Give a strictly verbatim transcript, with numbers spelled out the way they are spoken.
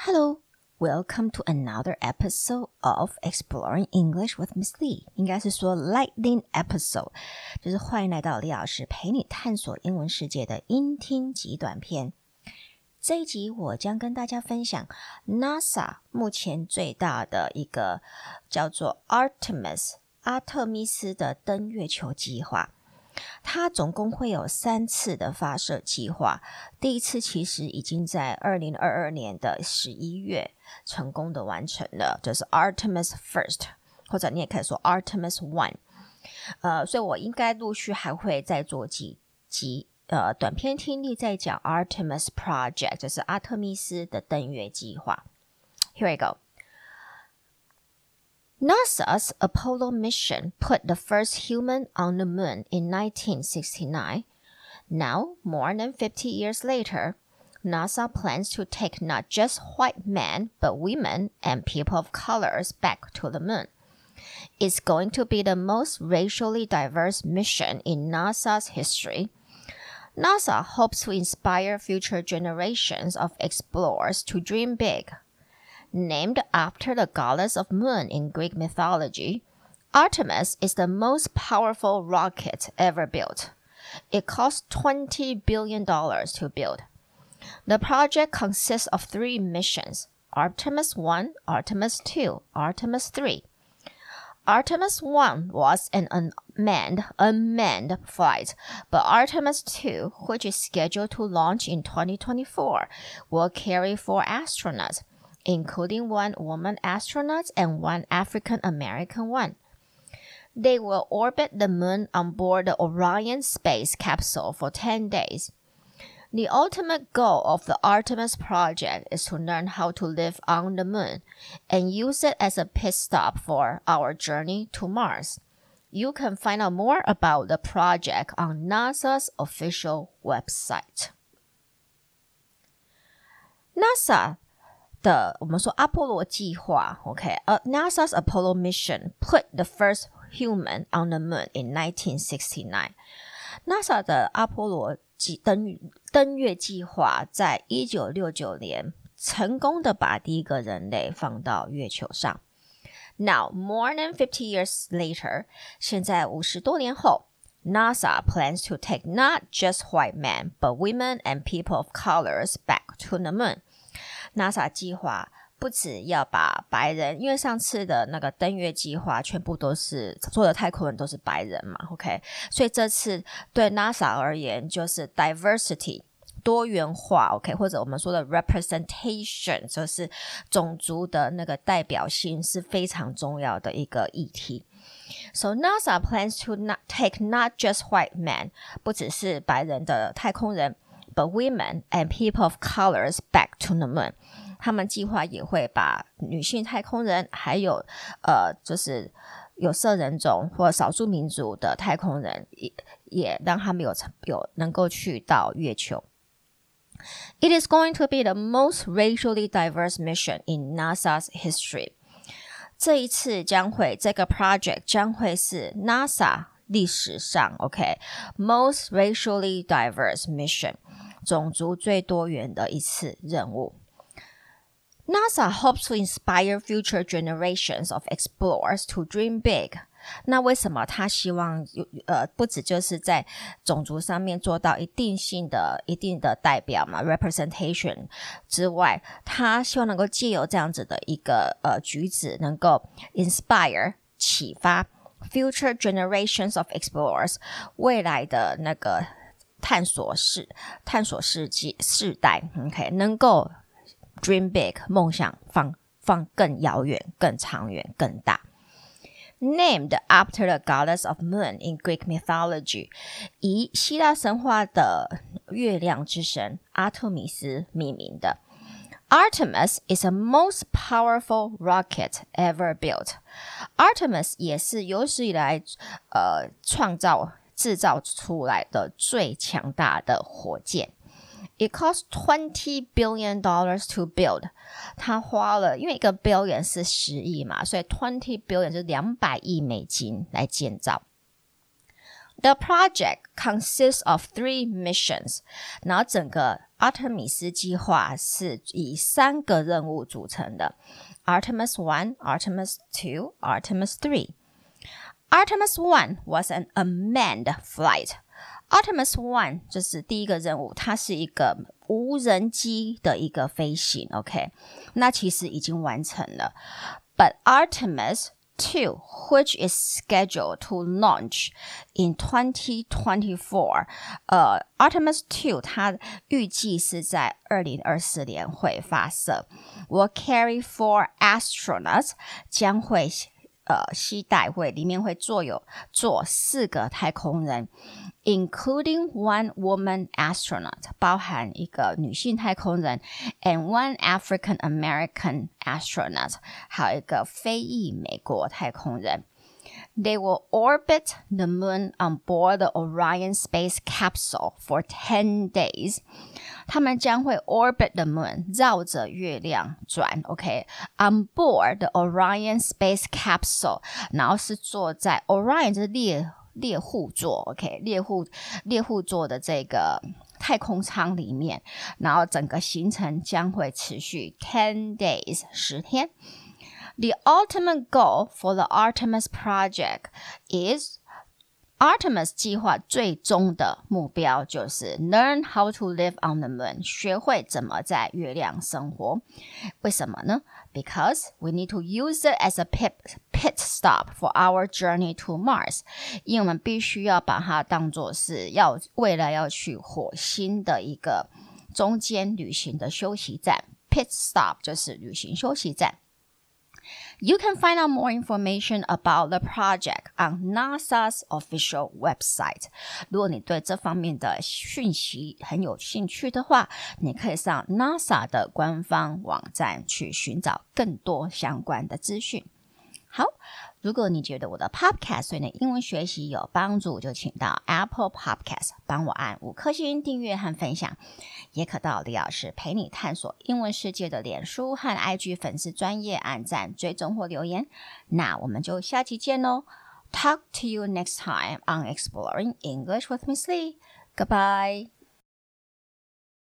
Hello, welcome to another episode of Exploring English with Miss Lee. 應該是說 Lightning episode， 就是歡迎來到李老師陪你探索英文世界的英聽極短篇。這一集我將跟大家分享 NASA 目前最大的一個叫做 Artemis 阿特米斯的登月球計劃。它總共會有三次的發射計劃，第一次其實已經在二零二二年的十一月成功的完成了，就是 Artemis First， 或者你也可以說 Artemis One。呃，所以我應該陸續還會再做幾集呃短篇聽力在講 Artemis Project， 就是阿特米斯的登月計劃。Here we go.NASA's Apollo mission put the first human on the moon in nineteen sixty-nine. Now, more than fifty years later, NASA plans to take not just white men, but women and people of colors back to the moon. It's going to be the most racially diverse mission in NASA's history. NASA hopes to inspire future generations of explorers to dream big.Named after the goddess of moon in Greek mythology, Artemis is the most powerful rocket ever built. It cost twenty billion dollars to build. The project consists of three missions, Artemis one, Artemis two, Artemis three. Artemis one was an unmanned, unmanned flight, but Artemis two, which is scheduled to launch in twenty twenty-four, will carry four astronauts,including one woman astronaut and one African-American one. They will orbit the moon on board the Orion space capsule for ten days. The ultimate goal of the Artemis project is to learn how to live on the moon and use it as a pit stop for our journey to Mars. You can find out more about the project on NASA's official website. NASA的我們說阿波羅計劃 OK、uh, NASA's Apollo mission put the first human on the moon in nineteen sixty-nine. NASA 的阿波羅登登月計劃在一九六九年成功的把第一個人類放到月球上。Now, more than fifty years later, 現在五十多年後 NASA plans to take not just white men, but women and people of colors back to the moon.NASA 計劃不只要把白人，因為上次的那個登月計劃全部都是做的太空人都是白人嘛 OK， 所以這次對 NASA 而言就是 diversity 多元化 OK， 或者我們說的 representation 就是種族的那個代表性是非常重要的一個議題。So NASA plans to not take not just white men， 不只是白人的太空人But women and people of colors back to the moon. 他們計劃也會把女性太空人，還有呃，就是有色人種或少數民族的太空人，也也讓他們有有能夠去到月球。It is going to be the most racially diverse mission in NASA's history. 這一次將會這個 project 將會是 NASA 歷史上 OK most racially diverse mission。種族最多元的一次任務。NASA hopes to inspire future generations of explorers to dream big. 那為什麼他希望呃不只就是在種族上面做到一定性的一定的代表嘛 representation 之外，他希望能夠借由這樣子的一個呃舉止，能夠 inspire 啟發 future generations of explorers 未來的那個探索世探索世紀世代 OK 能夠 dream big 夢想放放更遙遠更長遠更大。 Named after the goddess of moon in Greek mythology 以希臘神話的月亮之神阿特米斯命名的。 Artemis is the most powerful rocket ever built. Artemis 也是有史以來呃創造製造出來的最強大的火箭。It cost twenty billion dollars to build. 它花了，因為一個 billion 是十億嘛，所以twenty billion 就是兩百億美金來建造。The project consists of three missions. 然後整個阿特米斯計劃是以三個任務組成的 Artemis one, Artemis two, Artemis three. Artemis one was an unmanned flight. Artemis one 就是第一個任務，它是一個無人機的一個飛行 OK， 那其實已經完成了。But Artemis two, which is scheduled to launch in twenty twenty-four, 呃 Artemis two 它預計是在二零二四年會發射 will carry four astronauts 將會呃攜帶會裡面會坐有坐四個太空人 including one woman astronaut 包含一個女性太空人 and one African American astronaut 還有一個非裔美國太空人 They will orbit the moon on board the Orion space capsule for ten days. 他們將會 orbit the moon 繞着月亮轉 OK on board the Orion space capsule 然後是坐在 Orion 就是獵獵戶座 OK 獵戶獵戶座的這個太空艙裡面然後整個行程將會持續 ten days 十天The ultimate goal for the Artemis project is Artemis 計劃最終的目標就是 learn how to live on the moon 學會怎麼在月亮生活為什麼呢 Because we need to use it as a pit, pit stop for our journey to Mars 因為我們必須要把它當作是要未來要去火星的一個中間旅行的休息站 Pit stop 就是旅行休息站You can find out more information about the project on NASA's official website. 如果你對這方面的訊息很有興趣的話，你可以上 NASA 的官方網站去尋找更多相關的資訊。好，如果你覺得我的 podcast 對你的英文學習有幫助，就請到 Apple Podcast 幫我按五顆星訂閱和分享，也可到李老師陪你探索英文世界的臉書和 I G 粉絲專頁按讚、追蹤或留言。那我們就下期見咯 Talk to you next time on Exploring English with Miss Lee. Goodbye.